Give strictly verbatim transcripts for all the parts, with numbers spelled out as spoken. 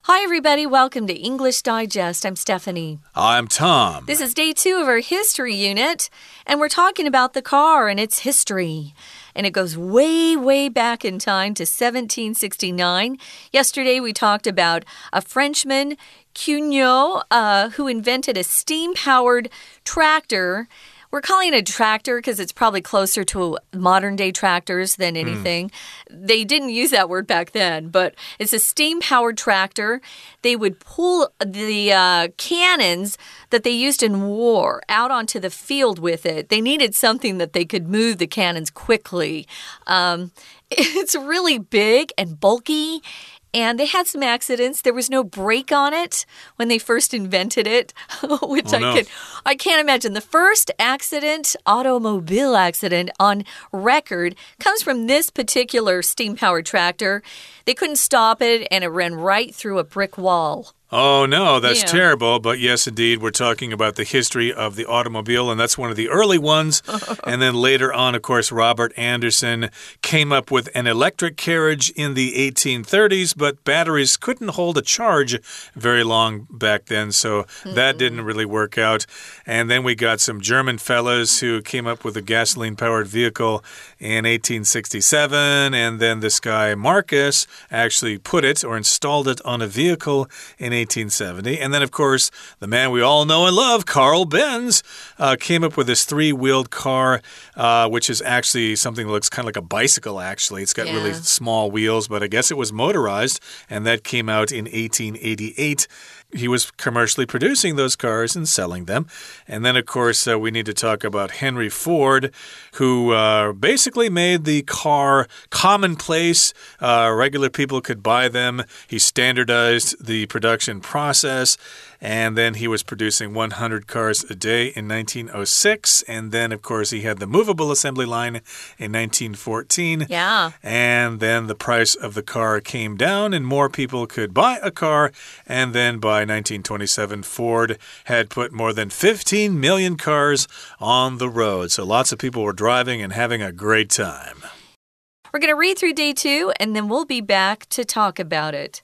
Hi, everybody. Welcome to English Digest. I'm Stephanie. I'm Tom. This is day two of our history unit, and we're talking about the car and its history. And it goes way, way back in time to seventeen sixty-nine. Yesterday, we talked about a Frenchman, Cugnot, uh, who invented a steam-powered tractor. We're calling it a tractor because it's probably closer to modern-day tractors than anything. Mm. They didn't use that word back then, but it's a steam-powered tractor. They would pull the uh, cannons that they used in war out onto the field with it. They needed something that they could move the cannons quickly. Um, it's really big and bulky. And they had some accidents. There was no brake on it when they first invented it, which oh, I no. can I can't imagine. The first accident, automobile accident on record, comes from this particular steam-powered tractor. They couldn't stop it, and it ran right through a brick wall. Oh, no, that's yeah. terrible. But yes, indeed, we're talking about the history of the automobile, and that's one of the early ones. And then later on, of course, Robert Anderson came up with an electric carriage in the eighteen thirties, but batteries couldn't hold a charge very long back then, so mm-hmm. that didn't really work out. And then we got some German fellows who came up with a gasoline-powered vehicle in eighteen sixty-seven, and then this guy, Marcus, actually put it or installed it on a vehicle in eighteen seventy. And then, of course, the man we all know and love, Carl Benz, uh, came up with this three-wheeled car, uh, which is actually something that looks kind of like a bicycle, actually. It's got yeah. really small wheels, but I guess it was motorized, and that came out in eighteen eighty-eight. He was commercially producing those cars and selling them. And then, of course, uh, we need to talk about Henry Ford, who uh, basically made the car commonplace. Uh, regular people could buy them. He standardized the production process. And then he was producing one hundred cars a day in nineteen oh six. And then, of course, he had the movable assembly line in nineteen fourteen. Yeah. And then the price of the car came down and more people could buy a car. And then by nineteen twenty-seven, Ford had put more than fifteen million cars on the road. So lots of people were driving and having a great time. We're going to read through day two, and then we'll be back to talk about it.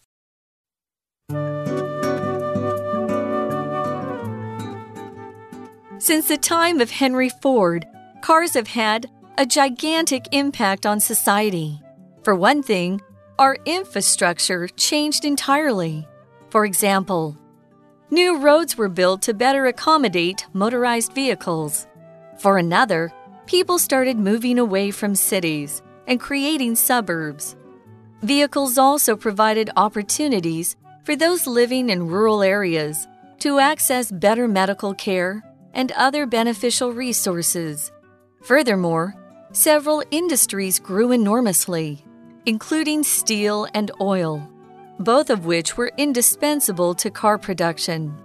Since the time of Henry Ford, cars have had a gigantic impact on society. For one thing, our infrastructure changed entirely. For example, new roads were built to better accommodate motorized vehicles. For another, people started moving away from cities and creating suburbs. Vehicles also provided opportunities for those living in rural areas to access better medical care and other beneficial resources. Furthermore, several industries grew enormously, including steel and oil, both of which were indispensable to car production.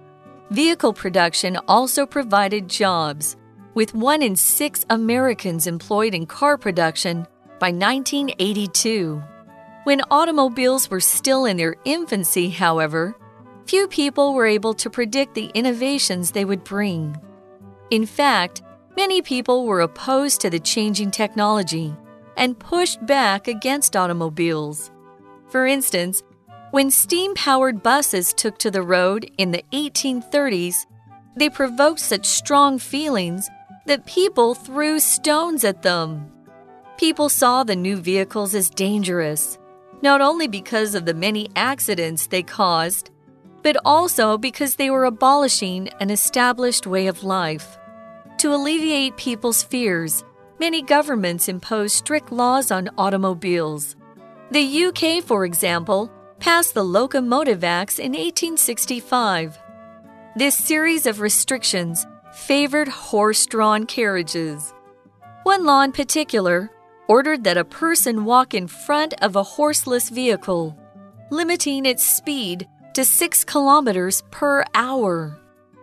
Vehicle production also provided jobs, with one in six Americans employed in car production by nineteen eighty-two. When automobiles were still in their infancy, however, few people were able to predict the innovations they would bring. In fact, many people were opposed to the changing technology and pushed back against automobiles. For instance, when steam-powered buses took to the road in the eighteen thirties, they provoked such strong feelings that people threw stones at them. People saw the new vehicles as dangerous, not only because of the many accidents they caused, but also because they were abolishing an established way of life. To alleviate people's fears, many governments imposed strict laws on automobiles. The U K, for example, passed the Locomotive Acts in eighteen sixty-five. This series of restrictions favored horse-drawn carriages. One law in particular ordered that a person walk in front of a horseless vehicle, limiting its speed to six kilometers per hour,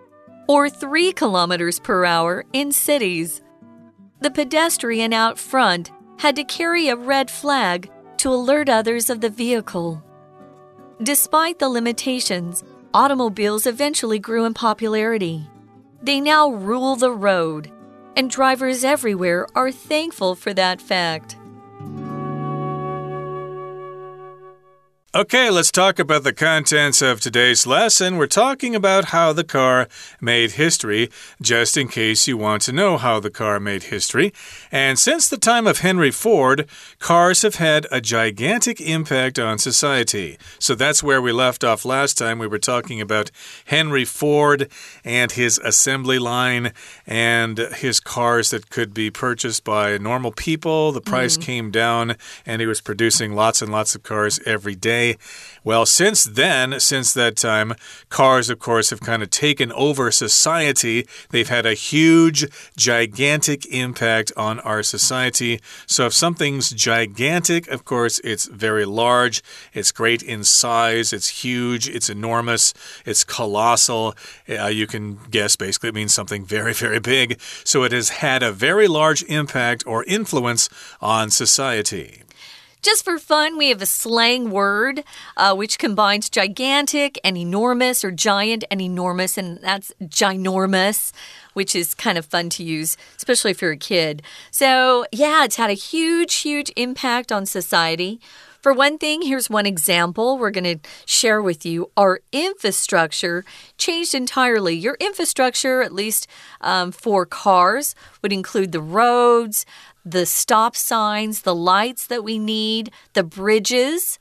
or three kilometers per hour in cities. The pedestrian out front had to carry a red flag to alert others of the vehicle. Despite the limitations, automobiles eventually grew in popularity. They now rule the road, and drivers everywhere are thankful for that fact. Okay, let's talk about the contents of today's lesson. We're talking about how the car made history, just in case you want to know how the car made history. And since the time of Henry Ford, cars have had a gigantic impact on society. So that's where we left off last time. We were talking about Henry Ford and his assembly line and his cars that could be purchased by normal people. The price mm. came down, and he was producing lots and lots of cars every day. Well, since then, since that time, cars, of course, have kind of taken over society. They've had a huge, gigantic impact on our society. So if something's gigantic, of course, it's very large. It's great in size. It's huge. It's enormous. It's colossal. Uh, you can guess, basically, it means something very, very big. So it has had a very large impact or influence on society. Just for fun, we have a slang word uh, which combines gigantic and enormous, or giant and enormous, and that's ginormous, which is kind of fun to use, especially if you're a kid. So, yeah, it's had a huge, huge impact on society. For one thing, here's one example we're going to share with you. Our infrastructure changed entirely. Your infrastructure, at least um, for cars, would include the roads, the stop signs, the lights that we need, the bridges.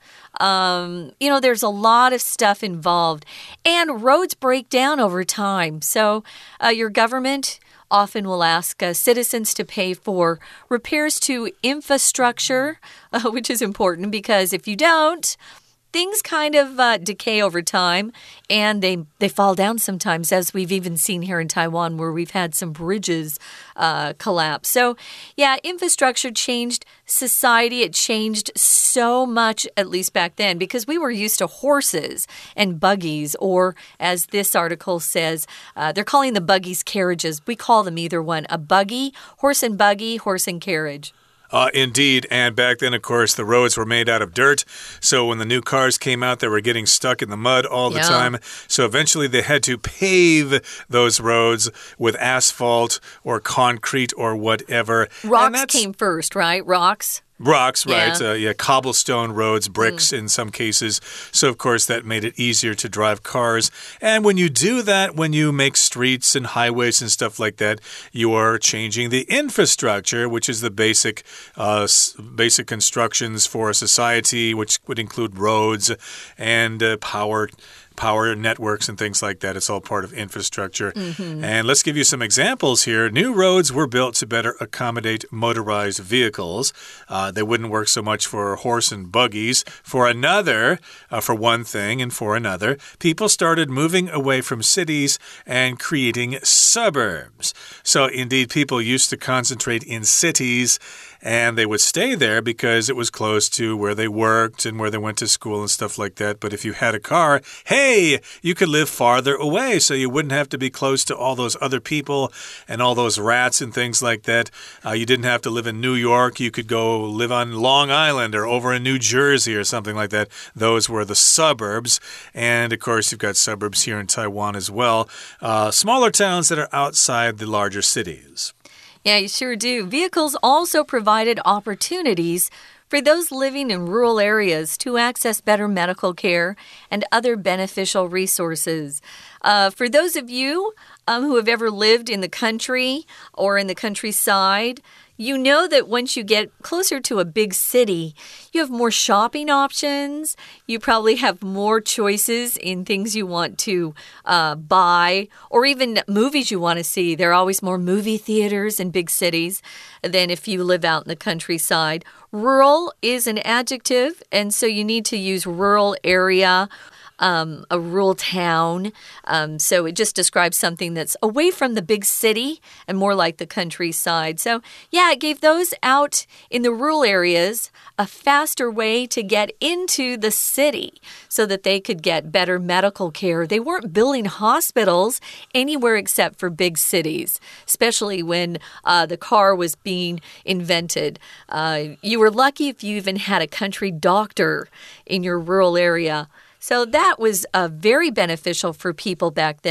Um, you know, there's a lot of stuff involved. And roads break down over time. So uh, your government often will ask uh, citizens to pay for repairs to infrastructure, uh, which is important because if you don't, things kind of uh, decay over time, and they, they fall down sometimes, as we've even seen here in Taiwan, where we've had some bridges uh, collapse. So, yeah, infrastructure changed society. It changed so much, at least back then, because we were used to horses and buggies, or as this article says, uh, they're calling the buggies carriages. We call them either one, a buggy, horse and buggy, horse and carriage. Uh, indeed, and back then, of course, the roads were made out of dirt, so when the new cars came out, they were getting stuck in the mud all the yeah. time, so eventually they had to pave those roads with asphalt or concrete or whatever. Rocks came first, right? Rocks? Rocks, right. Yeah. Uh, yeah, cobblestone roads, bricks mm. in some cases. So, of course, that made it easier to drive cars. And when you do that, when you make streets and highways and stuff like that, you are changing the infrastructure, which is the basic, uh, basic constructions for a society, which would include roads and uh, power power networks and things like that. It's all part of infrastructure. Mm-hmm. And let's give you some examples here. New roads were built to better accommodate motorized vehicles. Uh, they wouldn't work so much for horse and buggies. For another, uh, for one thing and for another, people started moving away from cities and creating suburbs. So indeed, people used to concentrate in cities, and they would stay there because it was close to where they worked and where they went to school and stuff like that. But if you had a car, hey, you could live farther away, so you wouldn't have to be close to all those other people and all those rats and things like that. Uh, you didn't have to live in New York. You could go live on Long Island or over in New Jersey or something like that. Those were the suburbs. And, of course, you've got suburbs here in Taiwan as well. Uh, smaller towns that are outside the larger cities. Yeah, you sure do. Vehicles also provided opportunities for those living in rural areas to access better medical care and other beneficial resources. Uh, for those of you um, who have ever lived in the country or in the countryside, you know that once you get closer to a big city, you have more shopping options. You probably have more choices in things you want to uh, buy or even movies you want to see. There are always more movie theaters in big cities than if you live out in the countryside. Rural is an adjective, and so you need to use rural area. Um, a rural town. Um, so it just describes something that's away from the big city and more like the countryside. So, yeah, it gave those out in the rural areas a faster way to get into the city so that they could get better medical care. They weren't building hospitals anywhere except for big cities, especially when uh, the car was being invented. Uh, you were lucky if you even had a country doctor in your rural area. So that was uh, very beneficial for people back then.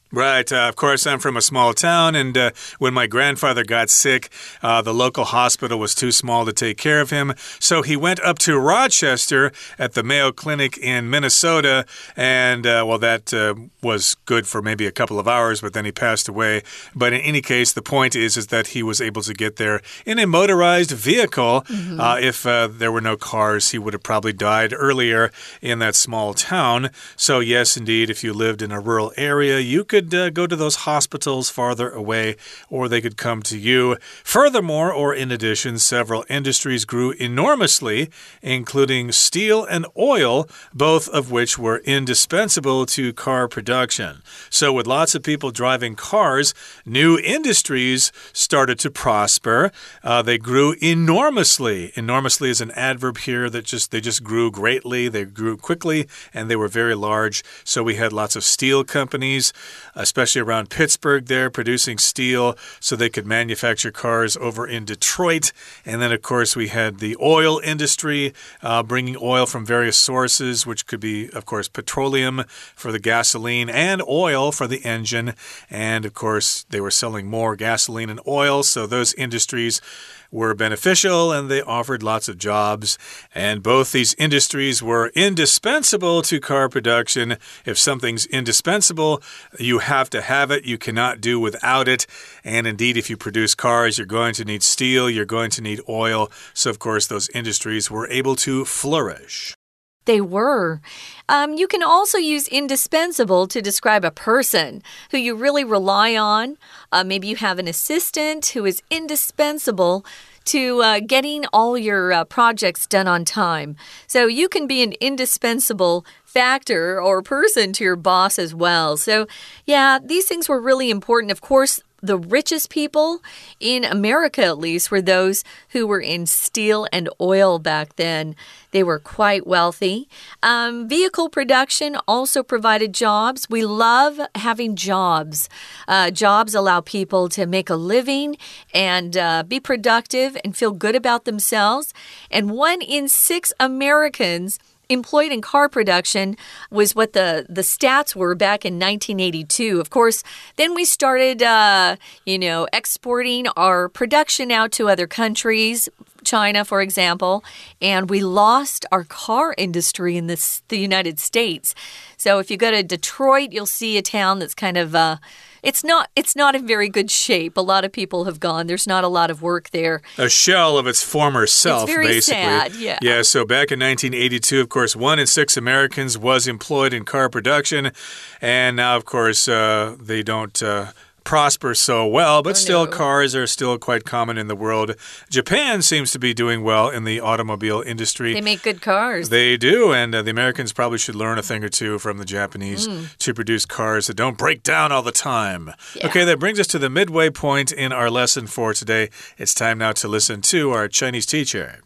Right. Uh, of course, I'm from a small town, and uh, when my grandfather got sick, uh, the local hospital was too small to take care of him. So he went up to Rochester at the Mayo Clinic in Minnesota, and, uh, well, that uh, was good for maybe a couple of hours, but then he passed away. But in any case, the point is, is that he was able to get there in a motorized vehicle. Mm-hmm. uh, if uh, there were no cars, he would have probably died earlier in that small town. So, yes, indeed, if you lived in a rural area, you could could uh, go to those hospitals farther away, or they could come to you. Furthermore, or in addition, several industries grew enormously, including steel and oil, both of which were indispensable to car production. So with lots of people driving cars, new industries started to prosper. Uh, they grew enormously. Enormously is an adverb here that just they just grew greatly. They grew quickly, and they were very large. So we had lots of steel companies, especially around Pittsburgh there, producing steel so they could manufacture cars over in Detroit. And then, of course, we had the oil industry, uh, bringing oil from various sources, which could be, of course, petroleum for the gasoline and oil for the engine. And, of course, they were selling more gasoline and oil, so those industries were beneficial, and they offered lots of jobs. And both these industries were indispensable to car production. If something's indispensable, you have to have it. You cannot do without it. And indeed, if you produce cars, you're going to need steel, you're going to need oil. So, of course, those industries were able to flourish. They were. Um, you can also use indispensable to describe a person who you really rely on. Uh, maybe you have an assistant who is indispensable to uh, getting all your uh, projects done on time. So you can be an indispensable factor or person to your boss as well. So, yeah, these things were really important. Of course, the richest people in America, at least, were those who were in steel and oil back then. They were quite wealthy. Um, vehicle production also provided jobs. We love having jobs. Uh, jobs allow people to make a living and uh, be productive and feel good about themselves. And one in six Americans employed in car production was what the, the stats were back in nineteen eighty-two. Of course, then we started, uh, you know, exporting our production out to other countries, China, for example, and we lost our car industry in this, the United States. So if you go to Detroit, you'll see a town that's kind of... Uh, It's not it's not in very good shape. A lot of people have gone. There's not a lot of work there. A shell of its former self, it's very basically. Sad, yeah. Yeah, so back in nineteen eighty-two, of course, one in six Americans was employed in car production. And now, of course, uh, they don't... Uh, prosper so well, but oh, still no. cars are still quite common in the world. Japan seems to be doing well in the automobile industry. They make good cars. They do, and uh, the Americans probably should learn a thing or two from the Japanese mm. to produce cars that don't break down all the time. Yeah. Okay, that brings us to the midway point in our lesson for today. It's time now to listen to our Chinese teacher.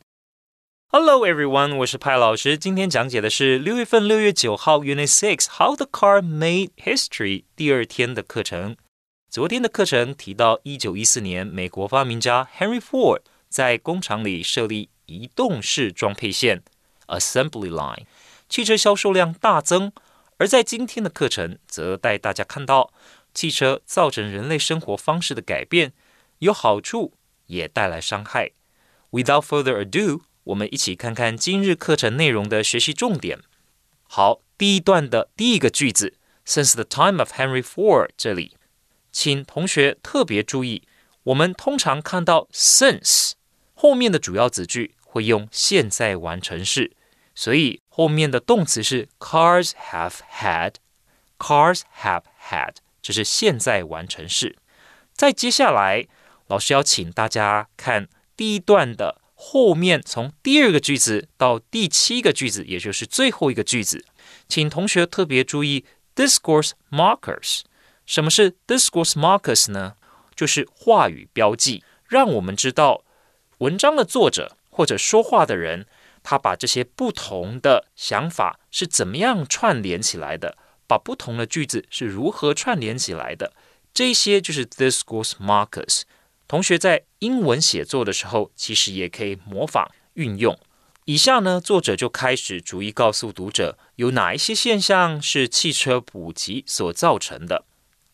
Hello everyone, 我是派老師。今天講解的是六月份六月九號 Unit six How the Car Made History 第二天的課程。昨天的課程提到一九一四年美國發明家 Henry Ford 在工廠裡設立移動式裝配線 Assembly Line， 汽車銷售量大增。而在今天的課程則帶大家看到汽車造成人類生活方式的改變，有好處也帶來傷害。Without further ado， 我們一起看看今日課程內容的學習重點。好，第一段的第一個句子 Since the time of Henry Ford 這裡請同學特別注意，我們通常看到 since 後面的主要子句會用現在完成式，所以後面的動詞是 cars have had cars have had 這是現在完成式。再接下來老師要請大家看第一段的後面，從第二個句子到第七個句子，也就是最後一個句子，請同學特別注意 discourse markers。什麼是 discourse markers 呢？就是話語標記，讓我們知道文章的作者或者說話的人，他把這些不同的想法是怎麼樣串聯起來的，把不同的句子是如何串聯起來的，這些就是 discourse markers。同學在英文寫作的時候，其實也可以模仿運用。以下呢，作者就開始逐一告訴讀者，有哪一些現象是汽車普及所造成的。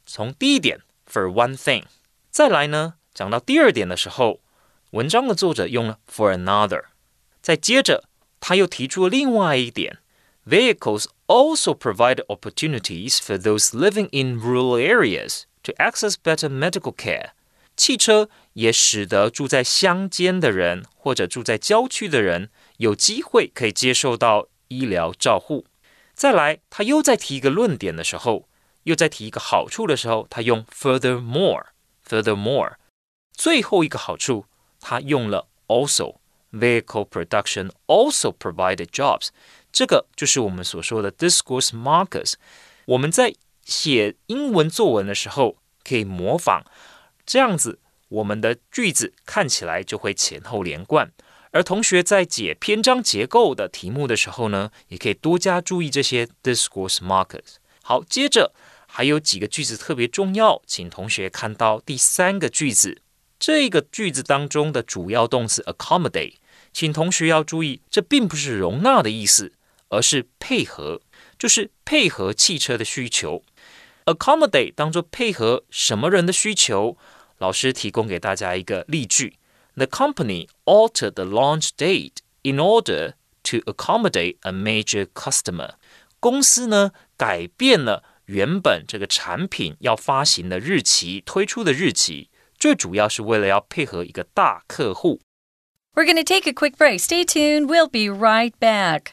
從第一點 for one thing， 再來呢，講到第二點的時候，文章的作者用了 for another， 再接着他又提出了另外一點 Vehicles also provide opportunities for those living in rural areas to access better medical care。汽車也使得住在鄉間的人或者住在郊區的人有機會可以接受到醫療照護。再來，他又再提一個論點的時候，又再提一個好處的時候，他用 furthermore。furthermore， 最後一個好處，他用了 also。Vehicle production also provided jobs。這個就是我們所說的 discourse markers。我們在寫英文作文的時候，可以模仿。這樣子，我們的句子看起來就會前後連貫。而同學在解篇章結構的題目的時候呢，也可以多加注意這些 discourse markers。好，接着還有幾個句子特別重要，請同學看到第三個句子。這個句子當中的主要動詞 accommodate， 請同學要注意，這並不是容納的意思，而是配合，就是配合汽車的需求。accommodate 當作配合什麼人的需求？老師提供給大家一個例句 ：The company altered the launch date in order to accommodate a major customer。公司呢改变了原本這個產品要發行的日期、推出的日期，最主要是為了要配合一個大客戶。 We're going to take a quick break. Stay tuned. We'll be right back.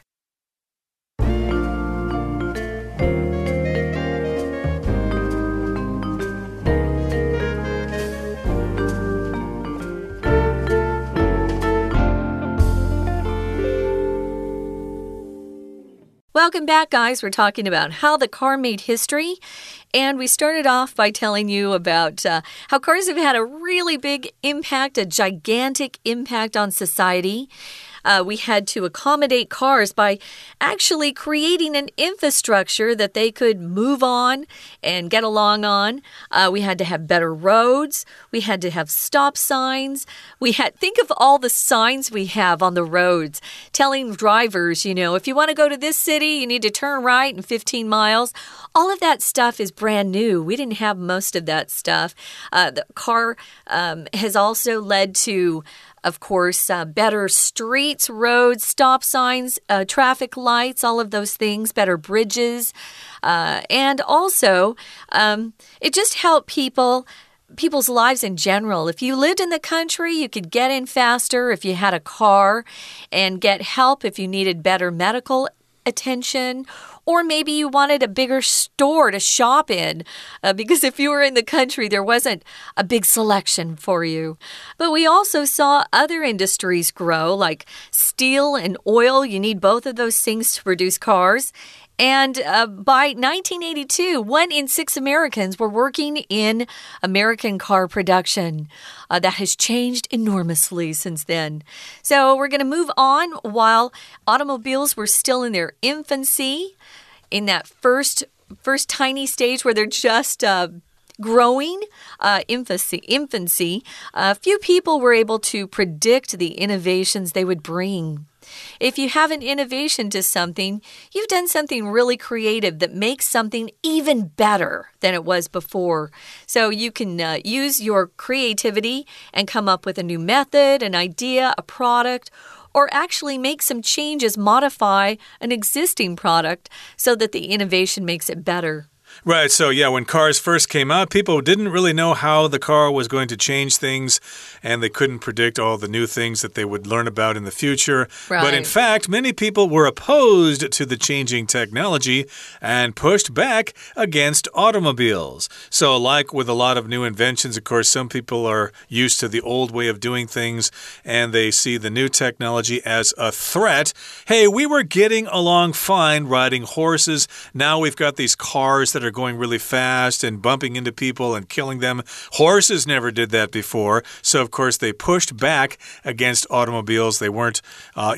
Welcome back, guys. We're talking about how the car made history. And we started off by telling you about uh, how cars have had a really big impact, a gigantic impact on society. Uh, we had to accommodate cars by actually creating an infrastructure that they could move on and get along on. Uh, we had to have better roads. We had to have stop signs. We had, think of all the signs we have on the roads telling drivers, you know, if you want to go to this city, you need to turn right in fifteen miles. All of that stuff is brand new. We didn't have most of that stuff. Uh, the car um, has also led to Of course, uh, better streets, roads, stop signs, uh, traffic lights, all of those things, better bridges. Uh, and also, um, it just helped people, people's lives in general. If you lived in the country, you could get in faster if you had a car and get help if you needed better medical attention. Or maybe you wanted a bigger store to shop in uh, because if you were in the country, there wasn't a big selection for you. But we also saw other industries grow, like steel and oil. You need both of those things to produce cars. And uh, by nineteen eighty-two, one in six Americans were working in American car production. Uh, that has changed enormously since then. So we're going to move on while automobiles were still in their infancy, in that first, first tiny stage where they're just uh, growing, uh, infancy. infancy. Uh, few people were able to predict the innovations they would bring. If you have an innovation to something, you've done something really creative that makes something even better than it was before. So you can uh, use your creativity and come up with a new method, an idea, a product, or actually make some changes, modify an existing product so that the innovation makes it better. Right, so yeah, when cars first came out, people didn't really know how the car was going to change things, and they couldn't predict all the new things that they would learn about in the future. Right. But in fact, many people were opposed to the changing technology and pushed back against automobiles. So like with a lot of new inventions, of course, some people are used to the old way of doing things, and they see the new technology as a threat. Hey, we were getting along fine riding horses. Now we've got these cars that are going really fast and bumping into people and killing them. Horses never did that before. So, of course, they pushed back against automobiles. They weren't uh, in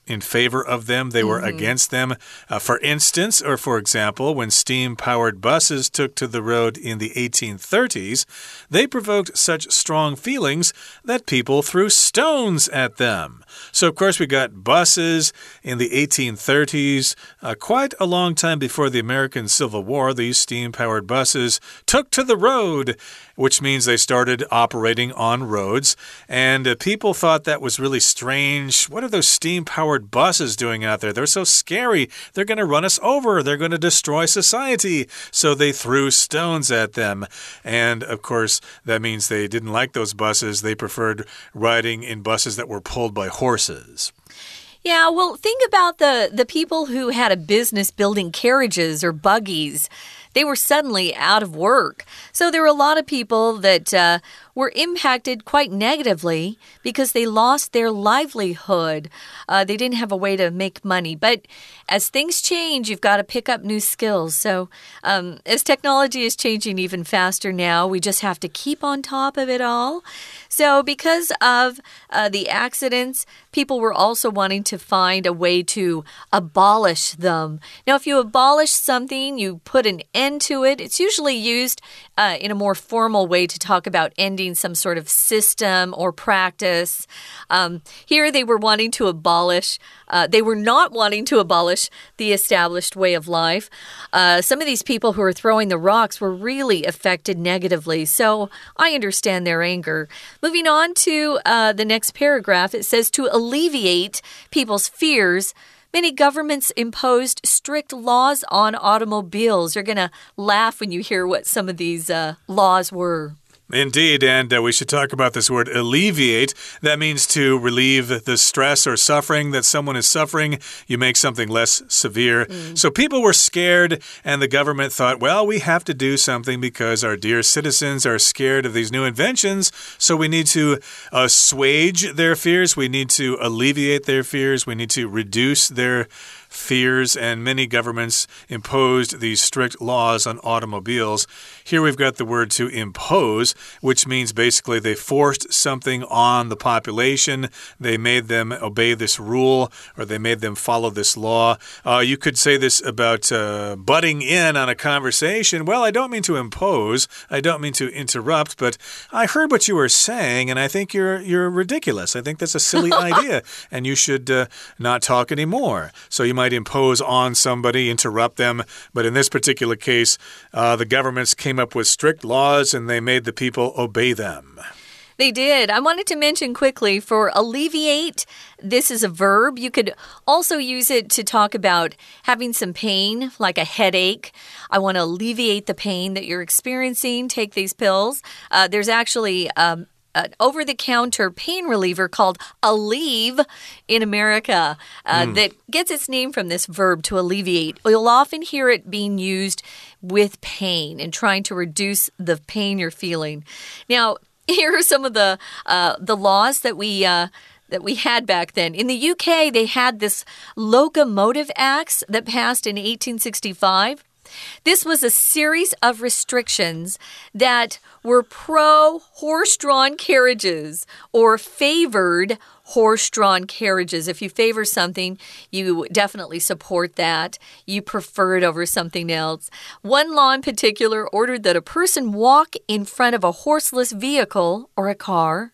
in favor of them. They were mm-hmm. against them. Uh, for instance, or for example, when steam-powered buses took to the road in the eighteen thirties, they provoked such strong feelings that people threw stones at them. So, of course, we got buses in the eighteen thirties. Uh, quite a long time before the American Civil War, these steam-powered buses took to the road, which means they started operating on roads. And uh, people thought that was really strange. What are those steam-powered buses doing out there? They're so scary. They're going to run us over. They're going to destroy society. So they threw stones at them. And, of course, that means they didn't like those buses. They preferred riding in buses that were pulled by horses. Yeah, well, think about the, the people who had a business building carriages or buggies. They were suddenly out of work. So there were a lot of people that uh, were impacted quite negatively because they lost their livelihood. Uh, they didn't have a way to make money. But as things change, you've got to pick up new skills. So um, as technology is changing even faster now, we just have to keep on top of it all. So because of uh, the accidents, people were also wanting to find a way to abolish them. Now, if you abolish something, you put an end to it. It's usually used uh, in a more formal way to talk about ending some sort of system or practice. Um, here they were wanting to abolish, uh, they were not wanting to abolish the established way of life. Uh, some of these people who were throwing the rocks were really affected negatively, so I understand their anger. Moving on to uh, the next paragraph, it says to alleviate people's fears, many governments imposed strict laws on automobiles. You're going to laugh when you hear what some of these uh, laws were. Indeed, and uh, we should talk about this word alleviate. That means to relieve the stress or suffering that someone is suffering. You make something less severe. Mm. So people were scared, and the government thought, well, we have to do something because our dear citizens are scared of these new inventions. So we need to assuage their fears. We need to alleviate their fears. We need to reduce their fears, and many governments imposed these strict laws on automobiles. Here we've got the word to impose, which means basically they forced something on the population. They made them obey this rule, or they made them follow this law. Uh, you could say this about uh, butting in on a conversation. Well, I don't mean to impose. I don't mean to interrupt, but I heard what you were saying, and I think you're, you're ridiculous. I think that's a silly idea, and you should uh, not talk anymore. So you might impose on somebody, interrupt them. But in this particular case, uh, the governments came up with strict laws and they made the people obey them. They did. I wanted to mention quickly for alleviate, this is a verb. You could also use it to talk about having some pain, like a headache. I want to alleviate the pain that you're experiencing. Take these pills. Uh, there's actually um, an over-the-counter pain reliever called Aleve in America uh, mm. that gets its name from this verb to alleviate. You'll often hear it being used with pain and trying to reduce the pain you're feeling. Now, here are some of the uh, the laws that we uh, that we had back then. In the U K, they had this Locomotive Acts that passed in eighteen sixty-five. This was a series of restrictions that were pro-horse-drawn carriages or favored horse-drawn carriages. If you favor something, you definitely support that. You prefer it over something else. One law in particular ordered that a person walk in front of a horseless vehicle or a car,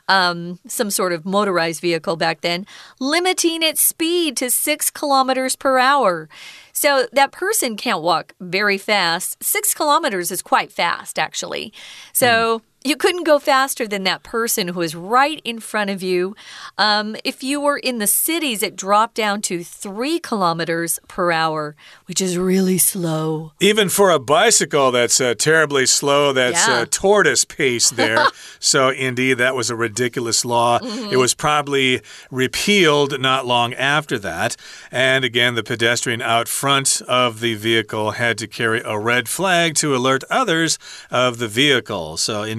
um, some sort of motorized vehicle back then, limiting its speed to six kilometers per hour. So that person can't walk very fast. Six kilometers is quite fast, actually. So... Mm. You couldn't go faster than that person who is right in front of you. Um, if you were in the cities, it dropped down to three kilometers per hour, which is really slow. Even for a bicycle, that's uh, terribly slow. That's yeah. uh, tortoise pace there. So, indeed, that was a ridiculous law. Mm-hmm. It was probably repealed not long after that. And again, the pedestrian out front of the vehicle had to carry a red flag to alert others of the vehicle. So, indeed,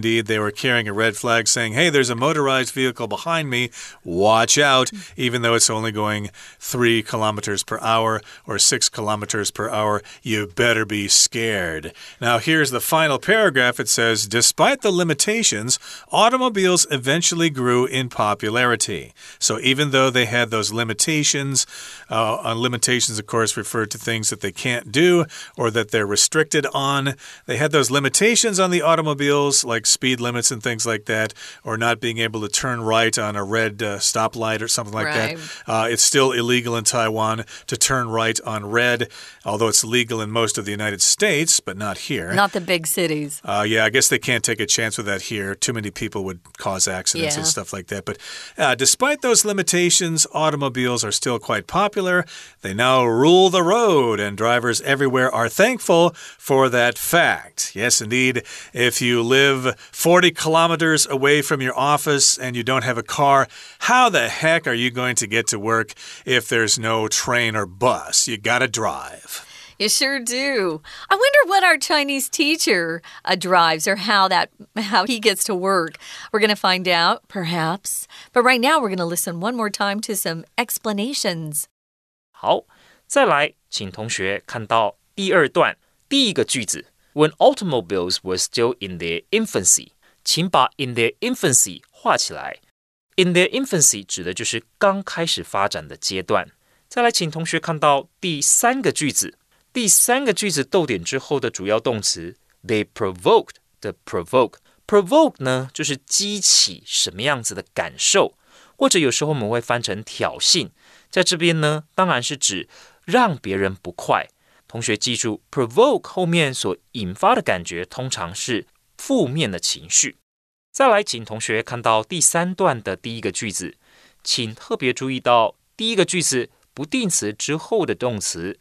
indeed, they were carrying a red flag saying, hey, there's a motorized vehicle behind me. Watch out, even though it's only going three kilometers per hour or six kilometers per hour. You better be scared. Now, here's the final paragraph. It says, despite the limitations, automobiles eventually grew in popularity. So even though they had those limitations, uh, limitations, of course, refer to things that they can't do or that they're restricted on. They had those limitations on the automobiles, like speed limits and things like that, or not being able to turn right on a red uh, stoplight or something like right. that. Uh, it's still illegal in Taiwan to turn right on red, although it's legal in most of the United States, but not here. Not the big cities. Uh, yeah, I guess they can't take a chance with that here. Too many people would cause accidents yeah. and stuff like that. But uh, despite those limitations, automobiles are still quite popular. They now rule the road, and drivers everywhere are thankful for that fact. Yes, indeed. If you live forty kilometers away from your office and you don't have a car, how the heck are you going to get to work if there's no train or bus? You gotta drive. You sure do. I wonder what our Chinese teacher uh, drives or how that how he gets to work. We're going to find out, perhaps. But right now, we're going to listen one more time to some explanations. 好，再来，请同学看到第二段第一个句子 When automobiles were still in their infancy， 请把 in their infancy 畫起來。In their infancy 指的就是剛開始發展的階段。再來，請同學看到第三個句子。第三個句子逗點之後的主要動詞 They provoked 的 provoke Provoke 呢就是激起什麼樣子的感受，或者有時候我們會翻成挑釁，在這邊呢當然是指讓別人不快。同學記住 provoke 後面所引發的感覺通常是負面的情緒。再來請同學看到第三段的第一個句子，請特別注意到第一個句子不定詞之後的動詞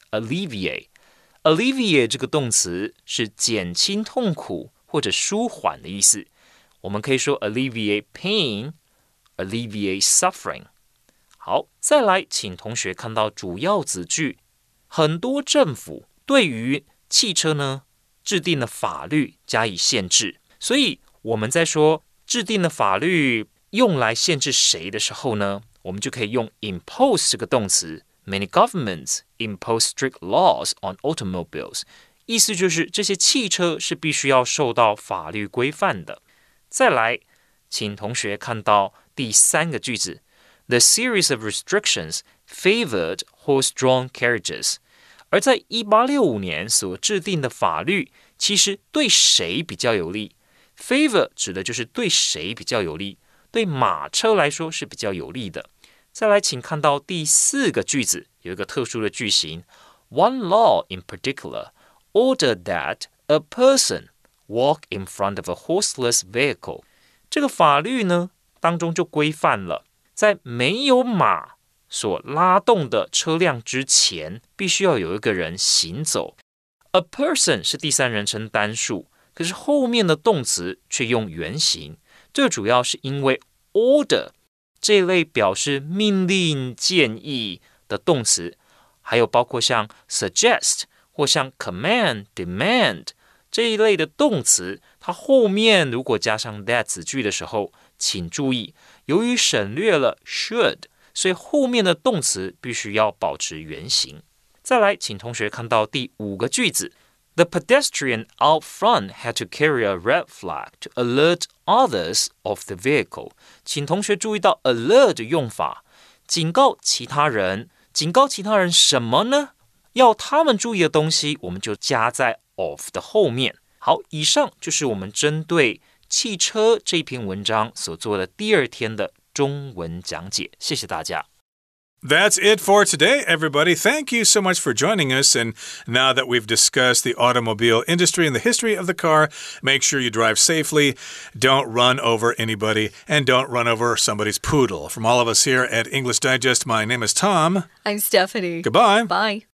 alleviate。Alleviate 這個動詞是減輕痛苦或者舒緩的意思，我們可以說 alleviate pain, alleviate suffering。好，再來，請同學看到主要子句，很多政府對於汽車呢制定了法律加以限制，所以我們在說制定的法律用來限制誰的時候呢，我們就可以用 impose 這個動詞。Many governments impose strict laws on automobiles. 意思就是這些汽車是必須要受到法律規範的。再來，請同學看到第三個句子 The series of restrictions favored horse-drawn carriages. 而在一八六五年所制定的法律其實對誰比較有利？ Favor 指的就是對誰比較有利，對馬車來說是比較有利的。再來，請看到第四個句子，有一個特殊的句型 One law in particular ordered that a person walk in front of a horseless vehicle. 這個法律呢，當中就規範了，在沒有馬所拉動的車輛之前，必須要有一個人行走。A person 是第三人稱單數，可是後面的動詞卻用原形，這主要是因為 order這一類表示命令、建議的動詞，還有包括像 suggest 或像 command、demand 這一類的動詞，它後面如果加上 that 子句的時候，請注意，由於省略了 should， 所以後面的動詞必須要保持原形。再來，請同學看到第五個句子 The pedestrian out front had to carry a red flag to alert others of the vehicle. 請同學注意到 alert 的用法，警告其他人，警告其他人什麼呢？要他們注意的東西，我們就加在 of 的後面。好，以上就是我們針對汽車這篇文章所做的第二天的中文講解，謝謝大家。 That's it for today, everybody. Thank you so much for joining us. And now that we've discussed the automobile industry and the history of the car, make sure you drive safely, don't run over anybody, and don't run over somebody's poodle. From all of us here at English Digest, my name is Tom. I'm Stephanie. Goodbye. Bye.